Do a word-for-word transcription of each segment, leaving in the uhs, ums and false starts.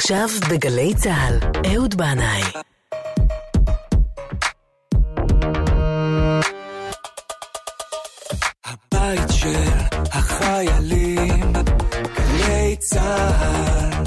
עכשיו בגלי צהל, אהוד בנאי. הבית של החיילים, גלי צהל.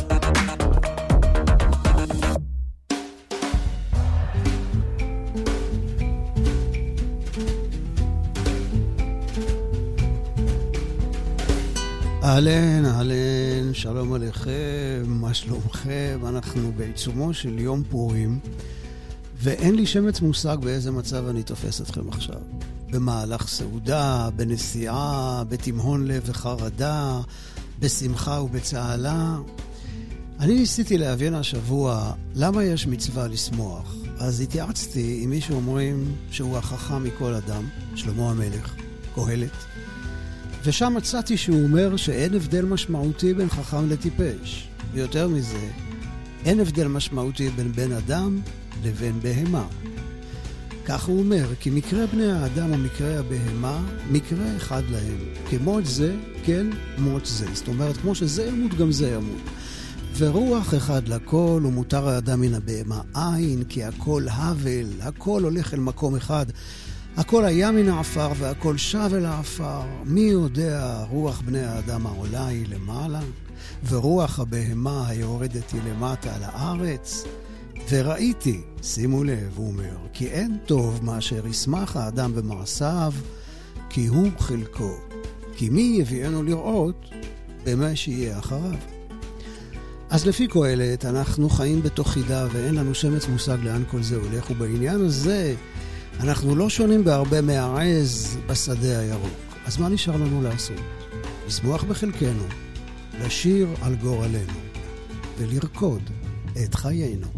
אהלן, אהלן, שלום עליכם, מה שלומכם? אנחנו בעיצומו של יום פורים, ואין לי שמץ מושג באיזה מצב אני תופס אתכם עכשיו. במהלך סעודה, בנסיעה, בתמהון לב וחרדה, בשמחה ובצהלה. אני ניסיתי להבין השבוע למה יש מצווה לשמוח. אז התייעצתי עם מי שאומרים שהוא החכם מכל אדם, שלמה המלך, קהלת. ושם מצאתי שהוא אומר שאין הבדל משמעותי בין חכם לטיפש. ויותר מזה, אין הבדל משמעותי בין בן אדם לבין בהמה. כך הוא אומר, כי מקרה בני האדם ומקרה הבהמה, מקרה אחד להם. כמות זה, כן, מות זה. זאת אומרת, כמו שזה ימות, גם זה ימות. ורוח אחד לכל, ומותר האדם מן הבהמה אין, כי הכל הבל, הכל הולך אל מקום אחד. הכל היה מן העפר והכל שב אל העפר. מי יודע, רוח בני האדם העולה היא למעלה, ורוח הבהמה היורדת היא למטה על הארץ. וראיתי, שימו לב, הוא אומר, כי אין טוב מאשר ישמח האדם במעשיו, כי הוא חלקו. כי מי יביאנו לראות במה שיהיה אחריו. אז לפי קהלת, אנחנו חיים בתוך חידה ואין לנו שמץ מושג לאן כל זה הולך, ובעניין הזה אנחנו לא שונים בהרבה מהעז בשדה הירוק. אז מה נשאר לנו לעשות? לשמוח בחלקנו, לשיר על גורלנו ולרקוד את חיינו.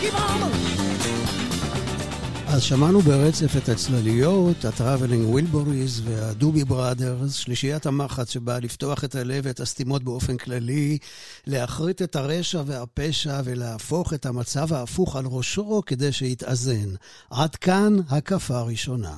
אז שמענו ברצף את הצלליות, הטראבלינג ווילבוריז והדובי בראדרס, שלישיית המחץ שבאה לפתוח את הלב ואת הסתימות באופן כללי, להחריט את הרשע והפשע ולהפוך את המצב ההפוך על ראשו כדי שיתאזן. עד כאן הקפה הראשונה.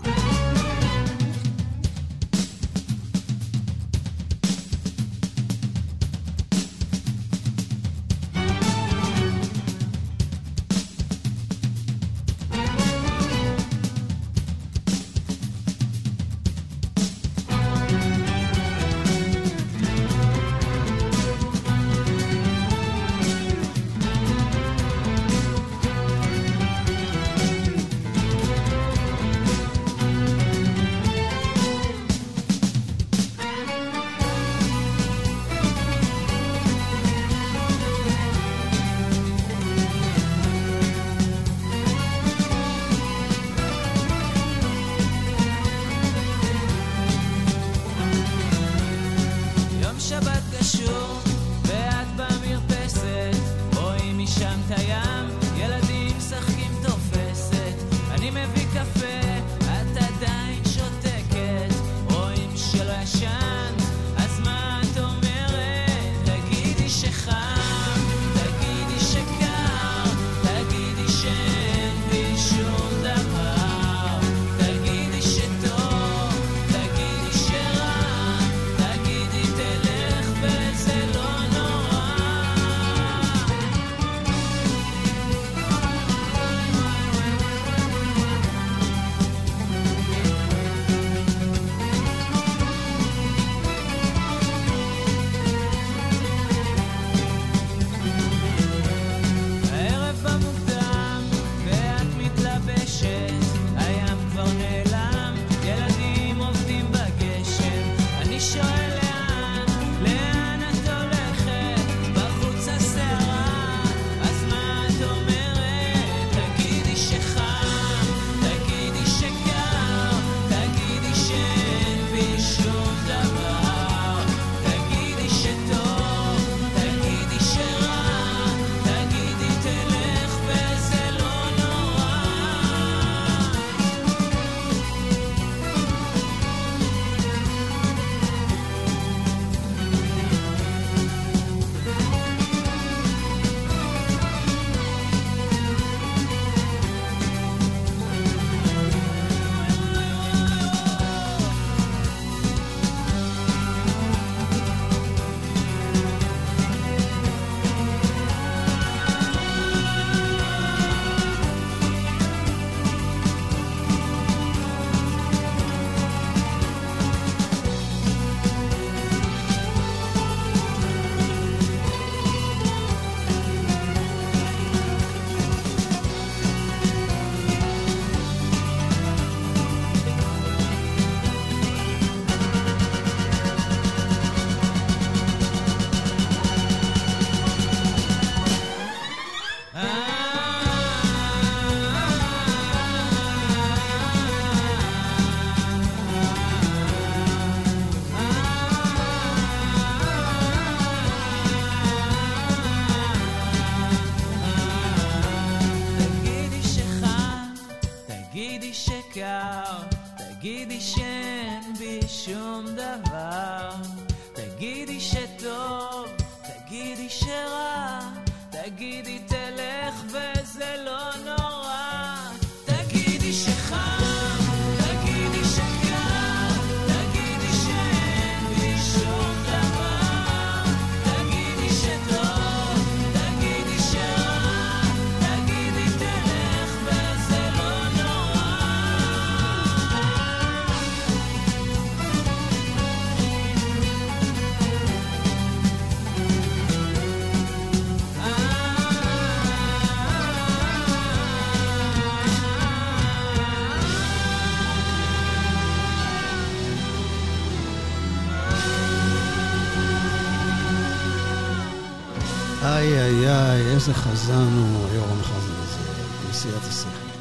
איי איי איי, איזה חזן הוא היורם חזן הזה, נשיאת השכל.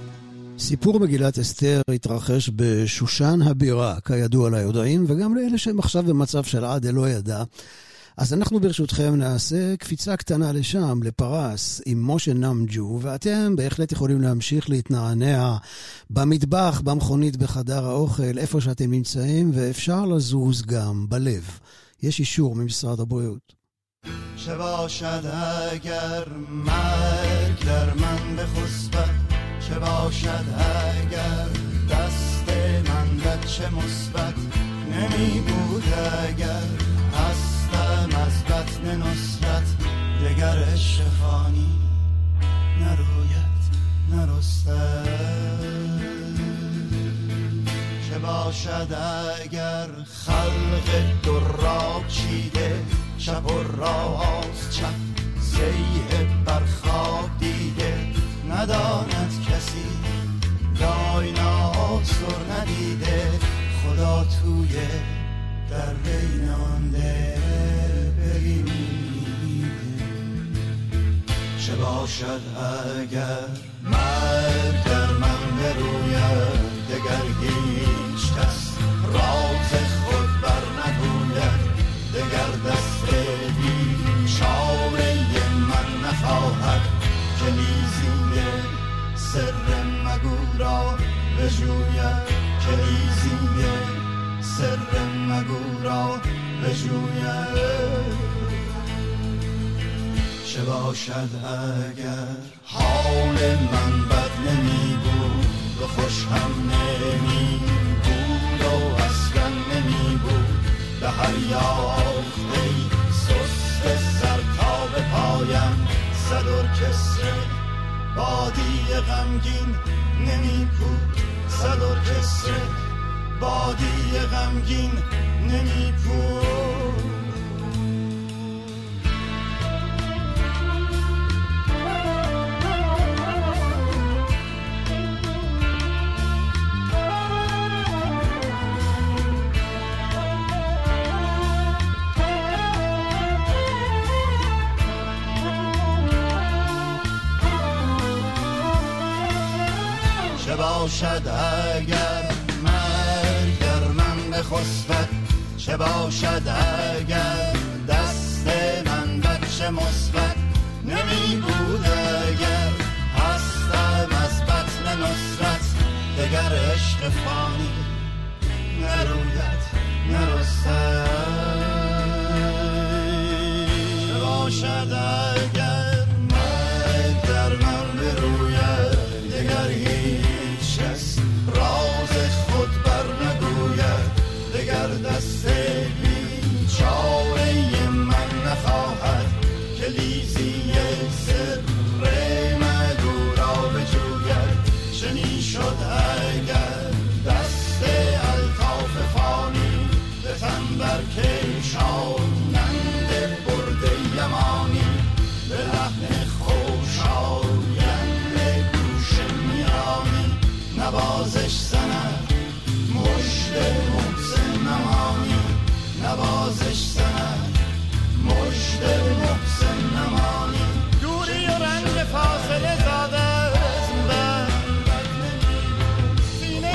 סיפור מגילת אסתר התרחש בשושן הבירה, כידוע ליודעים, וגם לאלה שהם עכשיו במצב של עד אלוה ידע. אז אנחנו ברשותכם נעשה קפיצה קטנה לשם, לפרס, עם משה נמג'ו, ואתם בהחלט יכולים להמשיך להתנענע במטבח, במכונית, בחדר האוכל, איפה שאתם נמצאים, ואפשר לזוז גם בלב. יש אישור ממשרד הבריאות. שבاشد اگر مرگ در من بخسبد چه باشد اگر دست من بچه مثبت نمی بود اگر هستم از بطن نصرت دگر عشق فانی نروید نرستد چه باشد اگر خلق دراب چیده شب و راست چپ زیه برخواب دیده نداند کسی داینا سر ندیده خدا توی در بین آن دل ببینیده چه باشد اگر مرگ در من بروید دگر هیچ کس راز خود بر نگوید دگر دست بی چاره من نخواهد که لیزینگ سر مگو را بجوید که لیزینگ سر مگو را بجوید چه باشد اگر حال من بد نمی بود و خوش هم نمی بود و اصلا نمی بود به هر یافته سست سر تا به پایم صد ارکستر بادی غمگین نمی بود صد ارکستر بادی غمگین نمی بود باشد اگر مرگ در من بخسبد چه باشد اگر دست من بچه مثبت نمی بود اگر هستم از بطن نصرت دگر عشق فانی نروید نرستد چه باشد اگر مرگ در من بروید دگر هیچ کس راز خود بر نگوید دگر دست بی چاره من نخواهد که لیزی سر مگو را بجوید چنین شد اگر دست الطاف فانی به تن برکشانند برد یمانی به لحن خوشایند گوش میانی نوازش زند مشت محسن نمانی نوازش زند مشت محسن نمانی دوری و رنج فاصله زاده از من سینه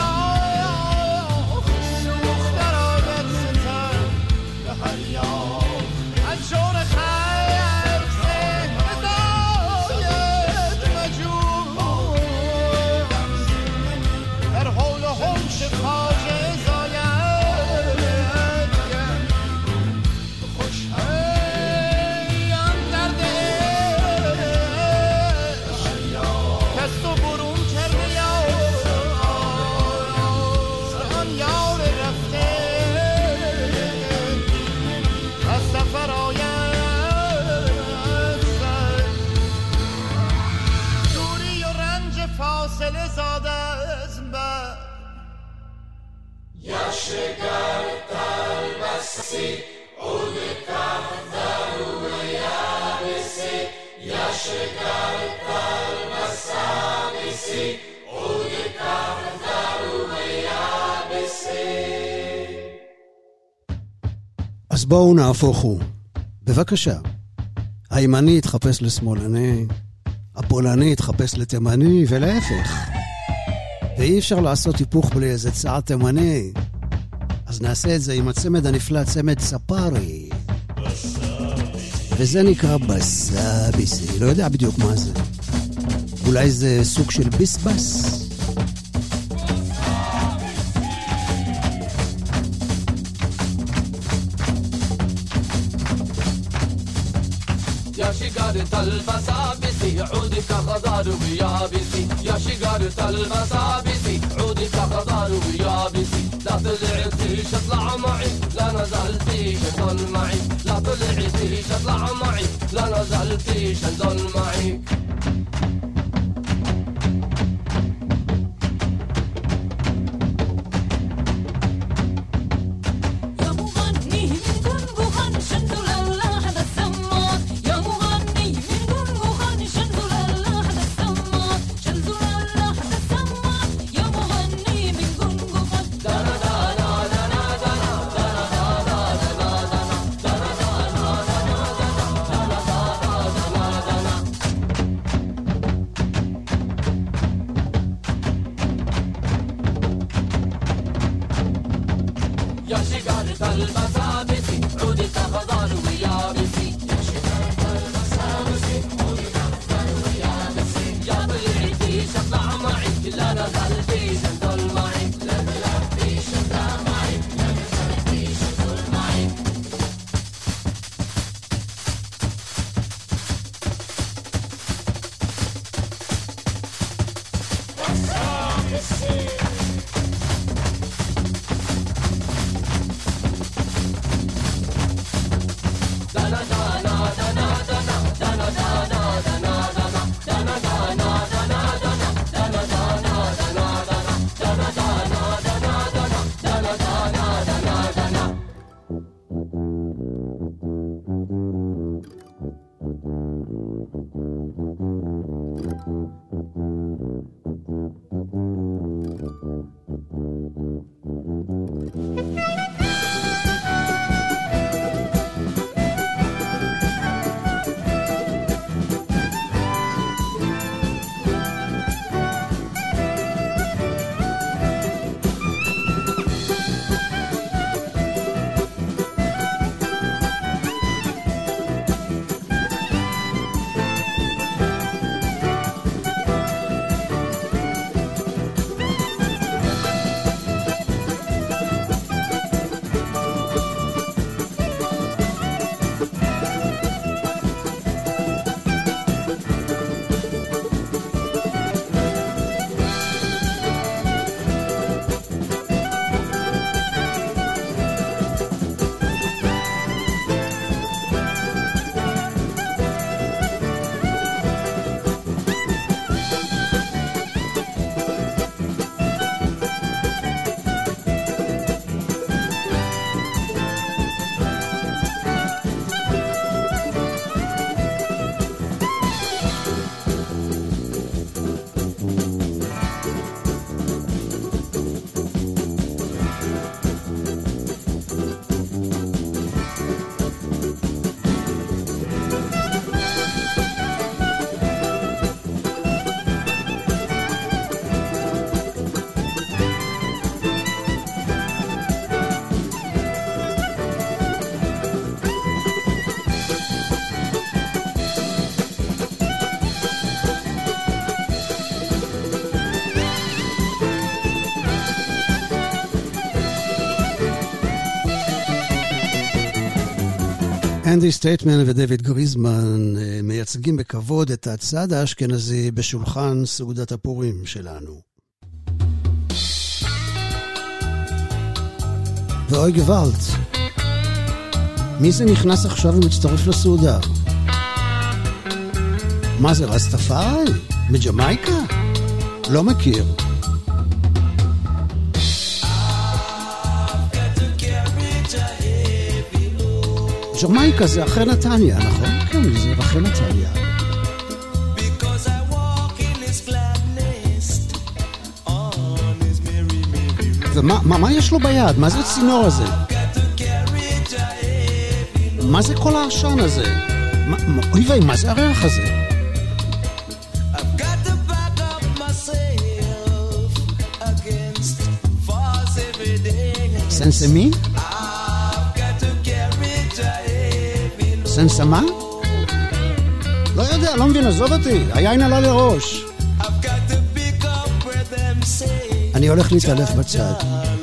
فراخ سوخت در آید ستر به هر یاد از جور خیر سه هدایت مجور در حول و حوش خواجه زاید خوش هم درد کس تو برون کرده یار آن یار رفته از سفر آید سر دوری و رنج فاصله زاده از من אז בואו נהפוכו. בבקשה. הימני יתחפש לשמאלני, הפולני יתחפש לתימני, ולהפך. ואי אפשר לעשות היפוך בלי איזה צעד תימני. אז נעשה את זה עם הצמד הנפלא, צמד ספארי. וזה נקרא בסאביסי. לא יודע בדיוק מה זה. אולי זה סוג של ביסבס? يا شجرة البسابس عودك خضار ويابسي يا شجرة البسابس عودك خضار ويابسي لا طلعتيش اطلع معي لا نزلتيش انضل معي لا طلعتيش اطلع معي لا نزلتيش انضل معي אנדי סטייטמן ודייוויד גריזמן מייצגים בכבוד את הצד האשכנזי בשולחן סעודת הפורים שלנו. ואוי גוואלט, מי זה נכנס עכשיו ומצטרף לסעודה? מה זה, רסטפארי? מג'מייקה? לא מכיר. ג'מייקה זה אחרי נתניה, נכון? כן, זה אחרי נתניה. ומה מה, מה יש לו ביד? מה זה הצינור הזה? מה זה כל העשן הזה? מה, אוי ואי, מה זה הריח הזה? סנסמי? סנסמה? לא יודע, לא מבין, עזוב אותי, היין עלה לראש. אני הולך להתעלף בצד.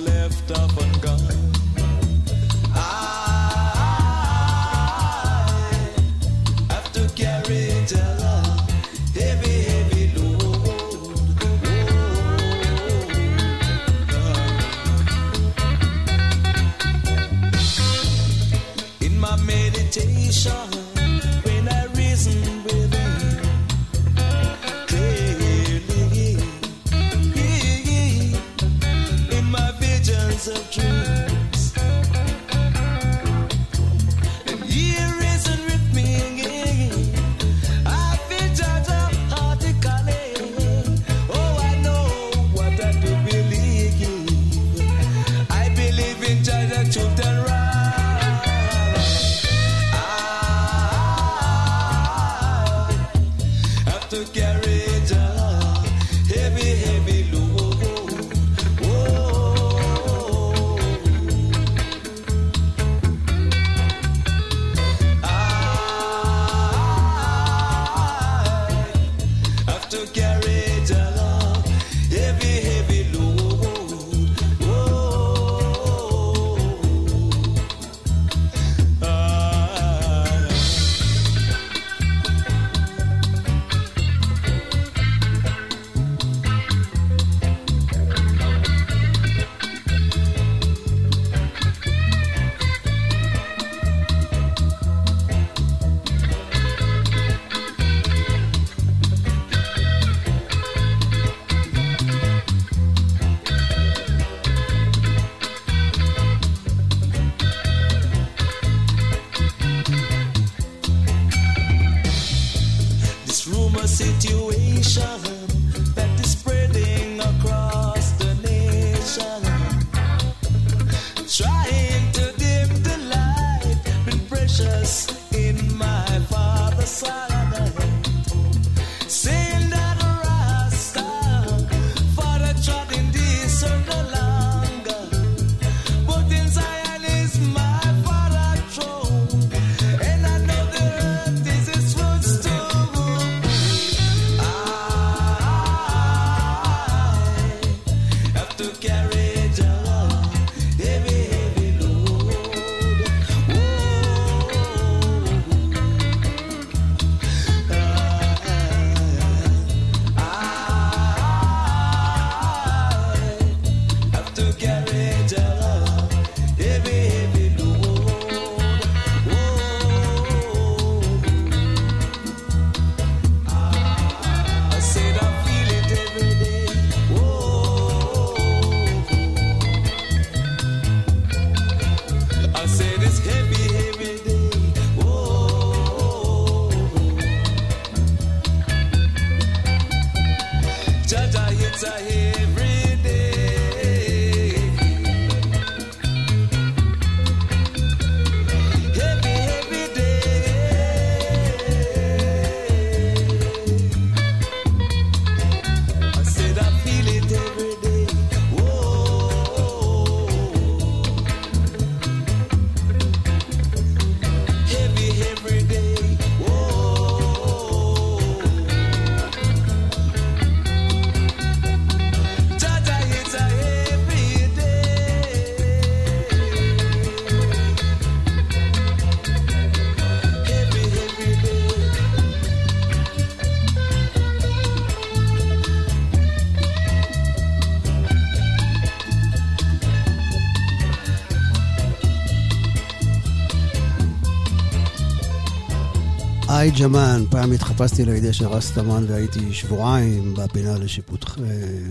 היי ג'מן, פעם התחפשתי לידי של רסטמן והייתי שבועיים בפינה לשיפוטכם.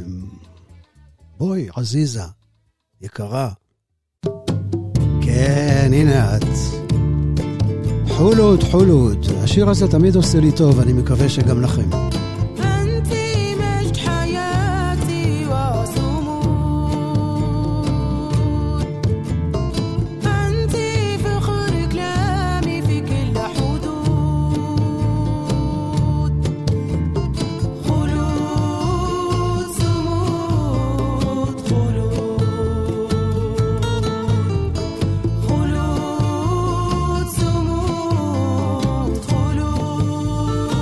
בואי, עזיזה, יקרה. כן, הנה את. חולוד, חולוד. השיר הזה תמיד עושה לי טוב, אני מקווה שגם לכם. خلود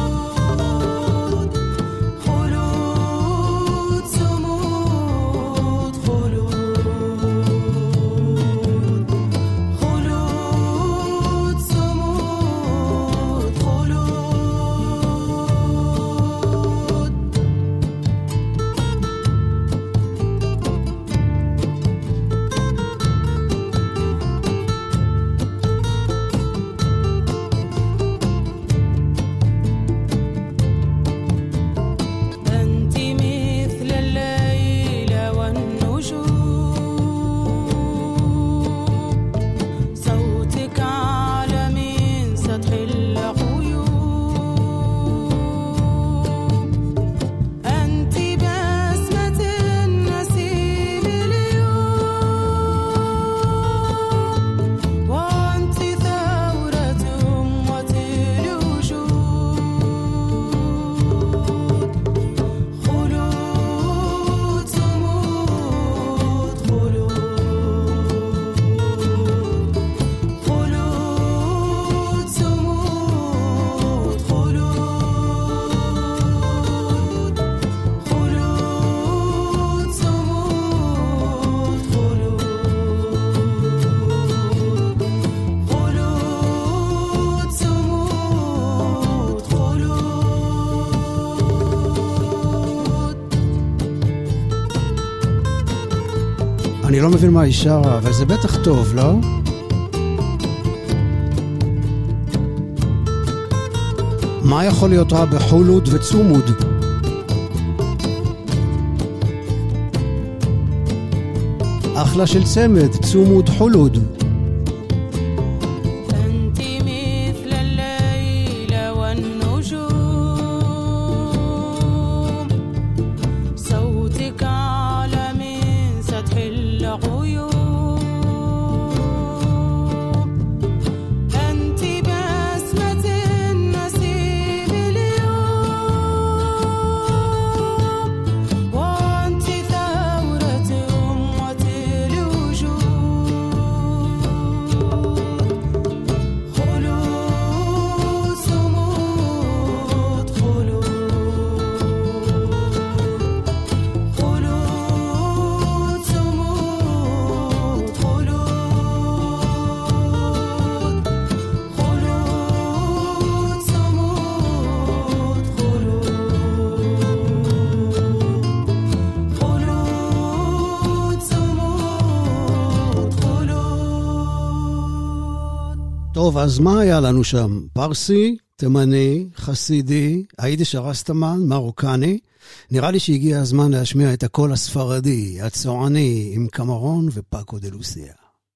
אני לא מבין מה היא שרה, אבל זה בטח טוב, לא? מה יכול להיות רע בחולוד וצומוד? אחלה של צמד, צומוד חולוד. טוב, אז מה היה לנו שם? פרסי, תימני, חסידי, היידיש הרסטמן, מרוקני. נראה לי שהגיע הזמן להשמיע את הקול הספרדי, הצועני, עם קמרון ופאקו דה לוסיה.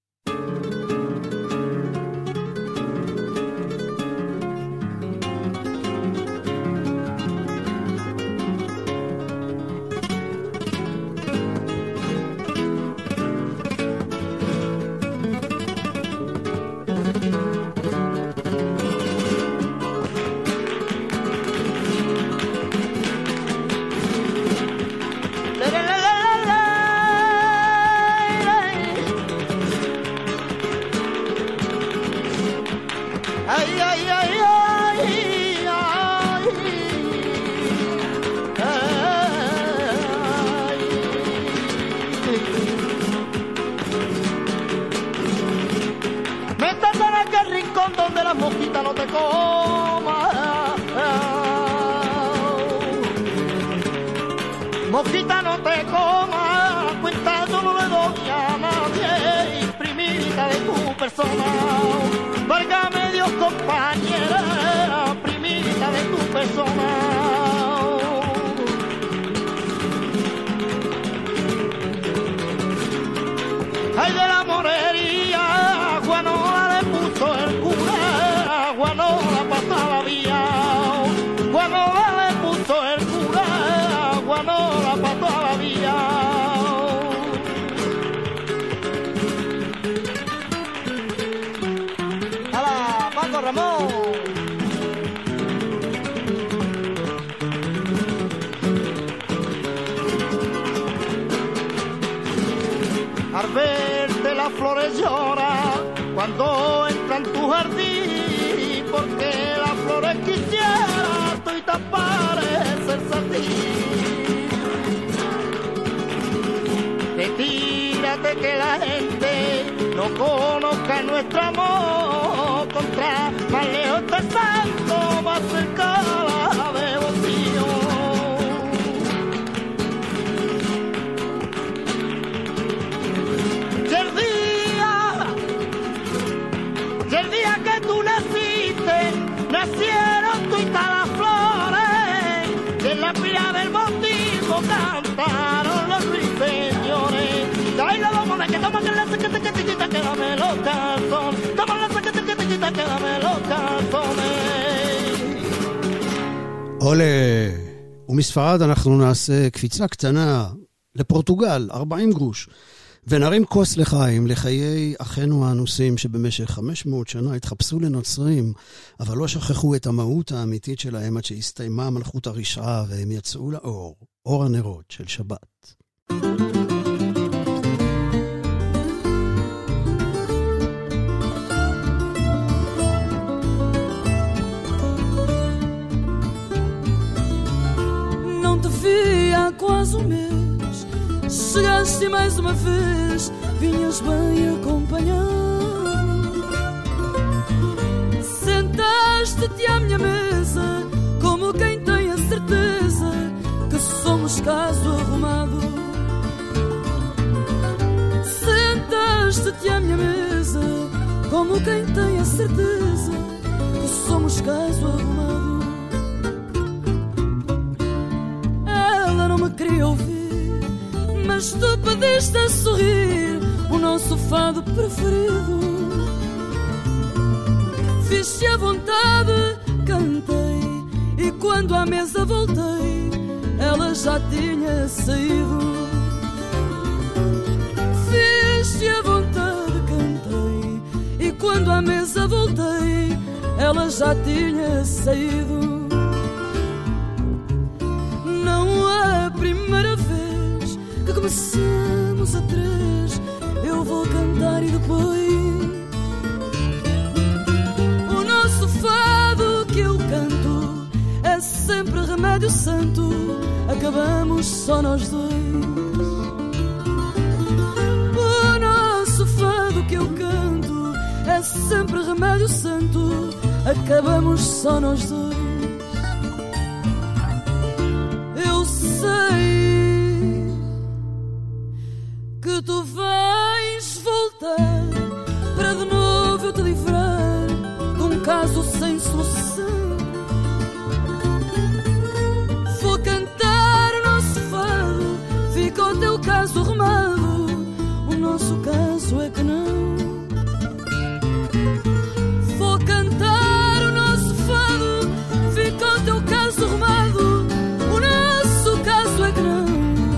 Al verte las flores llora cuando entra en tu jardín, porque las flores quisiera tú y te parecerse a ti. Retírate que la gente no conozca nuestro amor, contra más lejos te santo, más cerca la devoción. Y el día, y el día que tú naciste, nacieron tuitas las flores, y en la pila del bautismo cantaron los ruiseñores. Ay, la vamos a que toma que la saquete que te quita, que dame los calzones. Toma la saquete que te quita, que dame los calzones. עולה, ומספרד אנחנו נעשה קפיצה קטנה לפורטוגל, ארבעים גרוש, ונרים כוס לחיים, לחיי אחינו האנוסים שבמשך חמש מאות שנה התחפשו לנוצרים, אבל לא שכחו את המהות האמיתית שלהם עד שהסתיימה מלכות הרשעה והם יצאו לאור, אור הנרות של שבת. Quase um mês, chegaste mais uma vez, vinhas bem acompanhado. Sentaste-te à minha mesa, como quem tem a certeza que somos caso arrumado. como quem tem a certeza que somos caso arrumado. Ela não me queria ouvir, mas tu pediste a sorrir o nosso fado preferido. Fiz-te à vontade, cantei, e quando à mesa voltei, ela já tinha saído. Fiz-te à vontade, cantei, e quando à mesa voltei, ela já tinha saído. Não é a primeira vez que começamos a três, eu vou cantar e depois o nosso fado que eu canto é sempre remédio santo, acabamos só nós dois. O nosso fado que eu canto é sempre remédio santo, acabamos só nós dois. Eu sei que tu vais voltar para de novo eu te livrar de um caso sem solução. Vou cantar o nosso fado, fica o teu caso arrumado, o nosso caso é que não. Vou cantar o nosso fado, fica o teu caso arrumado, o nosso caso é que não.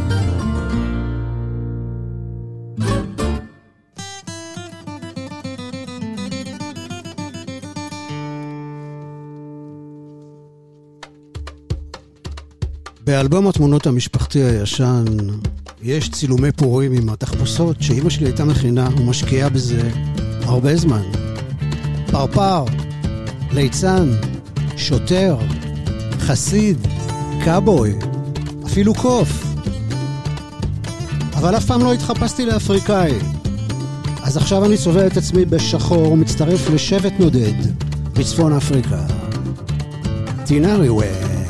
באלבום התמונות המשפחתי הישן יש צילומי פורים עם התחפושות שאימא שלי הייתה מכינה ומשקיעה בזה הרבה זמן. פרפר, ליצן, שוטר, חסיד, קאבוי, אפילו קוף. אבל אף פעם לא התחפשתי לאפריקאי. אז עכשיו אני צובע את עצמי בשחור ומצטרף לשבט נודד בצפון אפריקה. טינארי ווי.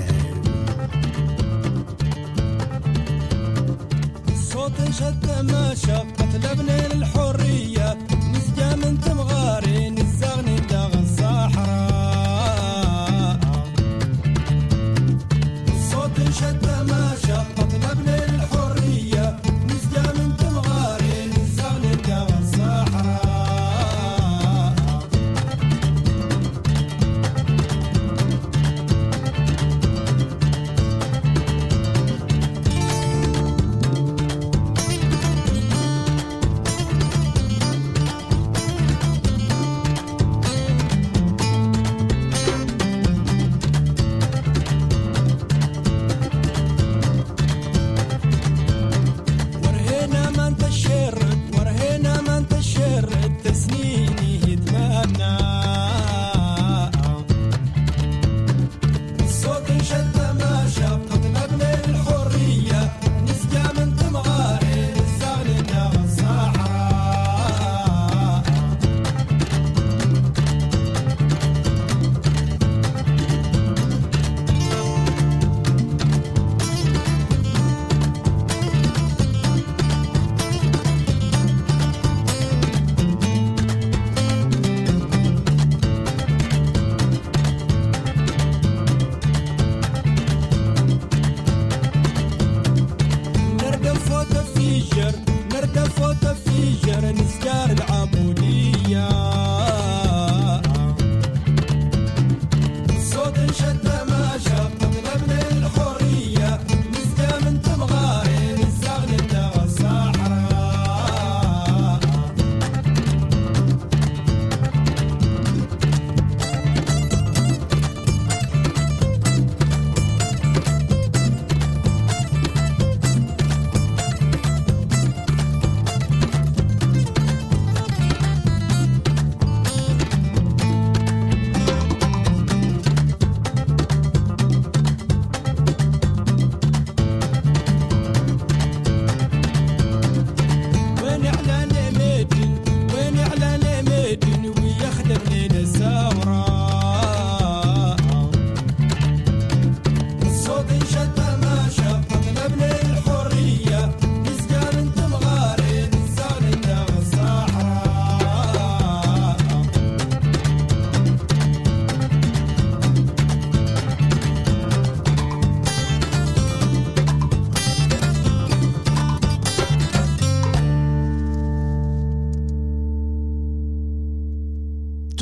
شد ما شقت لبني للحرية نسجى من تمغاري نزغني داغ الصحراء. الصوت شد ما شقت لبني للحرية نسجى من تمغاري نزغني داغ الصحراء.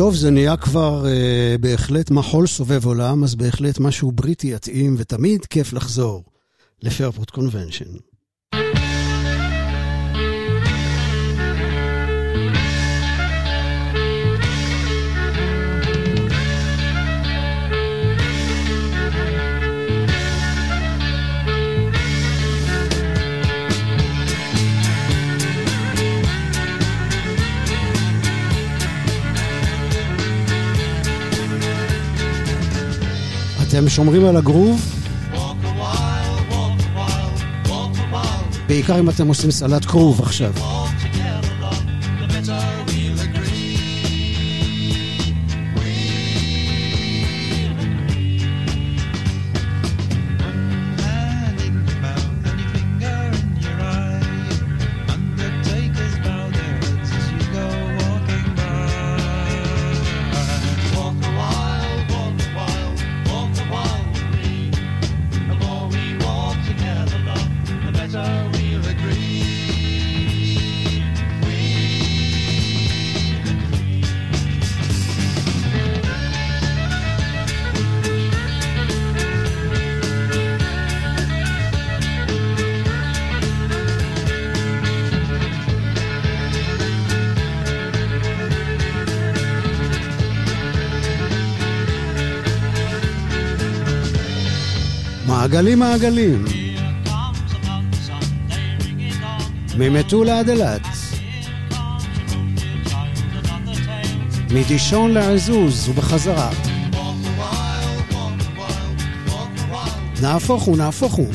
טוב, זה נהיה כבר אה, בהחלט מחול סובב עולם, אז בהחלט משהו בריטי יתאים, ותמיד כיף לחזור לפיירפורט קונבנשן. אתם שומרים על הגרוב? בעיקר אם אתם עושים סלט קרוב עכשיו. מעגלים מעגלים ממטולה עד אילת, מדישון לעזוז ובחזרה. נהפוך הוא, נהפוך הוא.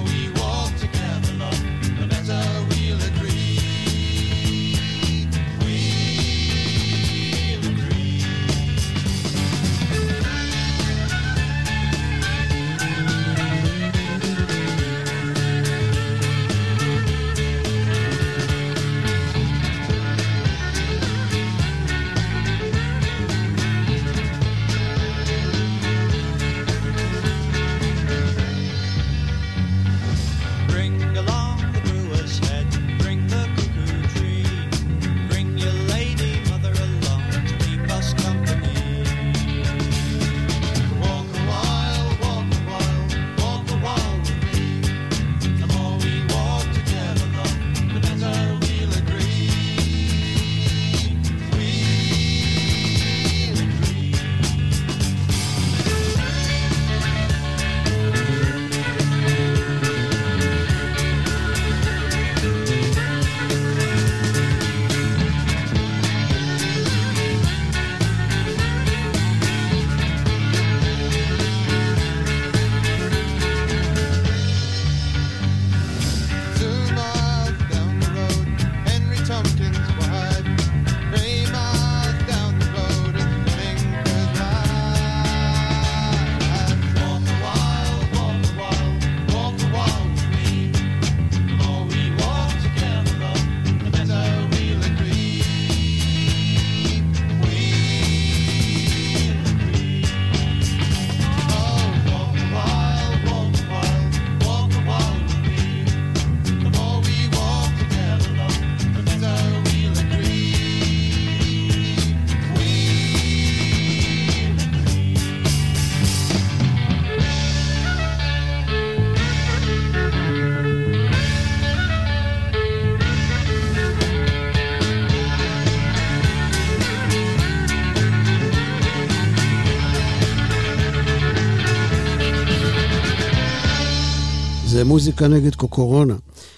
זה מוזיקה נגד קוקורונה.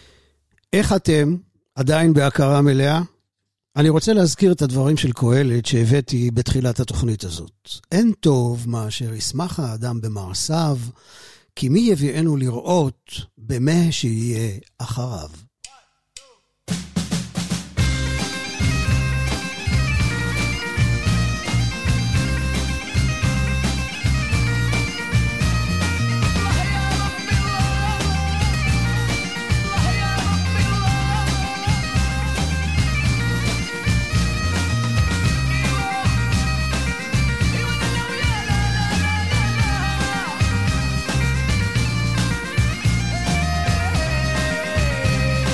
איך אתם עדיין בהכרה מלאה? אני רוצה להזכיר את הדברים של קהלת שהבאתי בתחילת התוכנית הזאת. אין טוב מאשר ישמח האדם במעשיו, כי מי יביאנו לראות במה שיהיה אחריו. Hey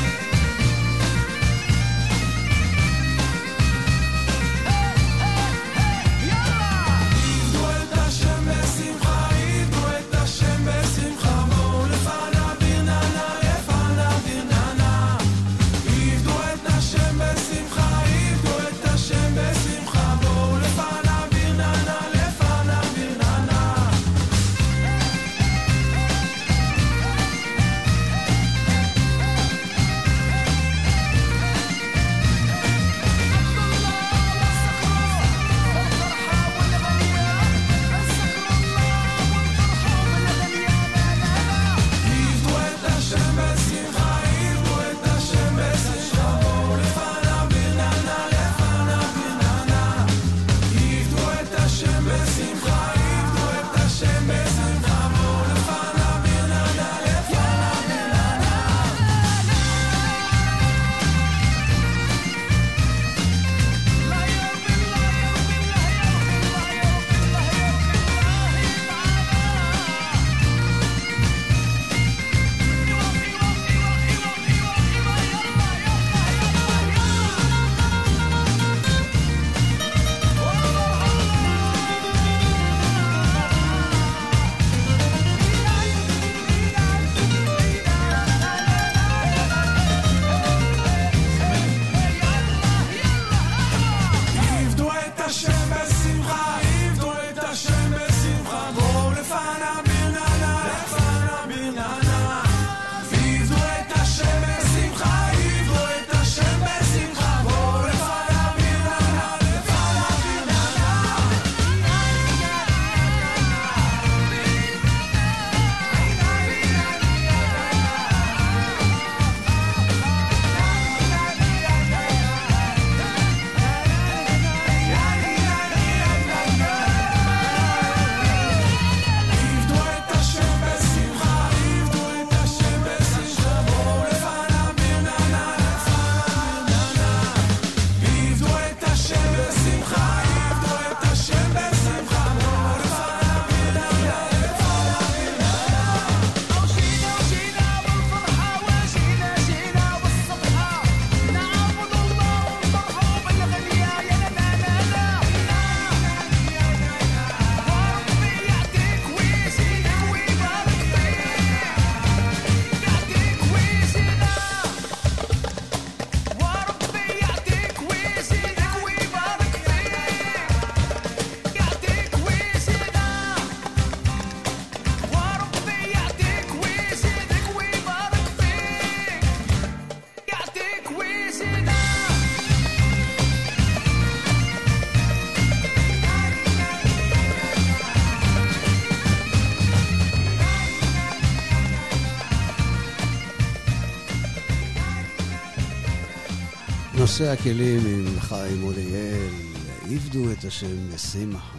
נושא הכלים עם חיים אוליאל, עבדו את השם בשמחה.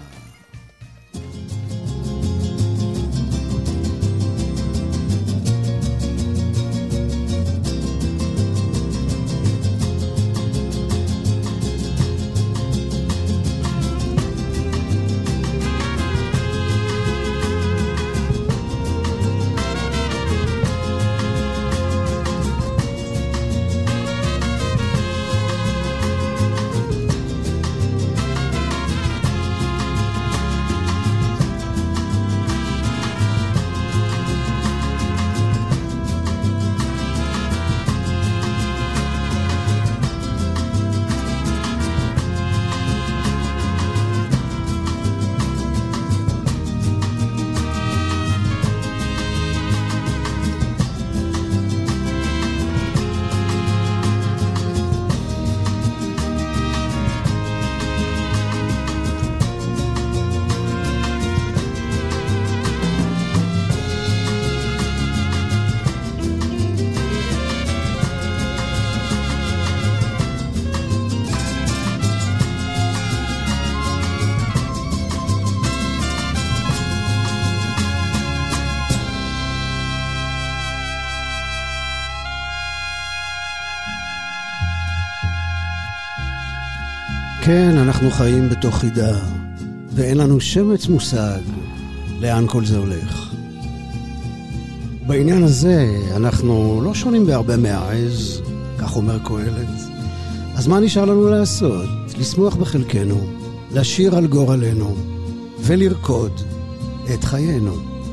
כן, אנחנו חיים בתוך חידה, ואין לנו שמץ מושג לאן כל זה הולך. בעניין הזה אנחנו לא שונים בהרבה מהעז, כך אומר קהלת. אז מה נשאר לנו לעשות? לשמוח בחלקנו, לשיר על גורלנו, ולרקוד את חיינו.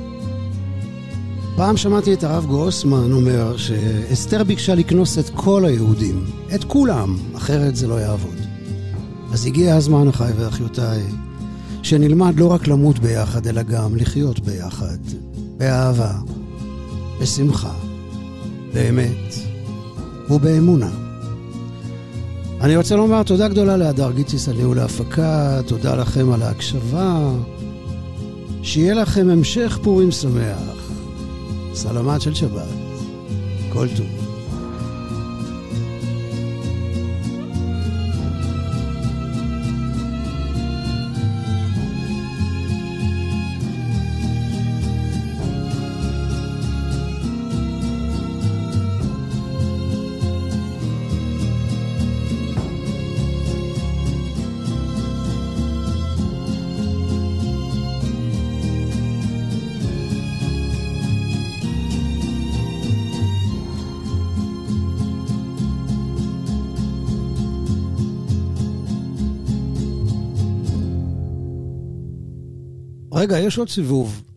פעם שמעתי את הרב גרוסמן אומר שאסתר ביקשה לקנוס את כל היהודים, את כולם, אחרת זה לא יעבוד. אז הגיע הזמן, אחי ואחיותיי, שנלמד לא רק למות ביחד, אלא גם לחיות ביחד, באהבה, בשמחה, באמת ובאמונה. אני רוצה לומר תודה גדולה להדר גיציס על ניהול ההפקה, תודה לכם על ההקשבה, שיהיה לכם המשך פורים שמח, סלמת של שבת, כל טוב. רגע, יש עוד סיבוב.